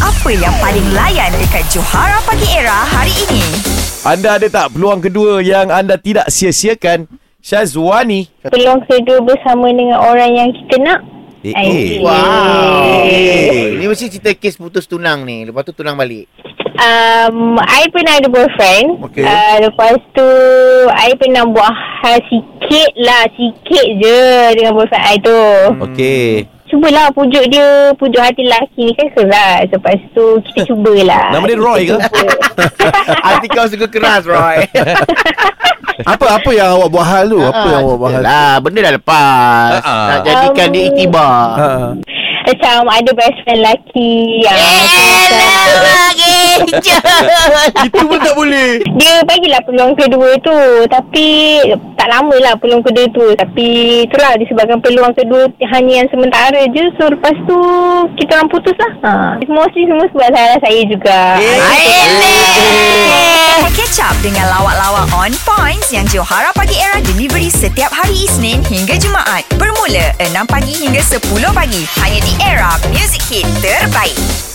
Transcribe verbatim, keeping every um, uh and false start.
Apa yang paling layan dekat Johara Pagi Era hari ini? Anda ada tak peluang kedua yang anda tidak sia-siakan? Syazwani. Peluang kedua bersama dengan orang yang kita nak. Eh, Ay, eh. Wow. Eh, Ni mesti cerita kes putus tunang ni. Lepas tu tunang balik. Um, I pernah ada boyfriend. Okey. Uh, lepas tu, I pernah buat hal sikit lah. Sikit je dengan boyfriend I tu. Okey. Cubalah pujuk dia. Pujuk hati lelaki ni kan keras. Lepas tu, kita cubalah. Nama dia Roy ke? Hati kau suka keras, Roy. Apa apa yang awak buat hal tu? Apa yang awak buat hal? Lah, benda dah lepas. Ah, ah. Nak jadikan dia iktibar. Ha. Macam ada best friend lelaki yang Itu pun tak boleh. dia bagilah peluang kedua tu. Tapi tak lama lah peluang kedua tu. Tapi itulah disebabkan peluang kedua hanya yang sementara je. So lepas tu kita orang putus lah. Ha. Mostly semua sebab salah saya juga. Catch up dengan lawak-lawak on points yang Johara Pagi Era delivery setiap hari Isnin hingga Jumaat. Bermula enam pagi hingga sepuluh pagi. Hanya di Era Music Hit terbaik.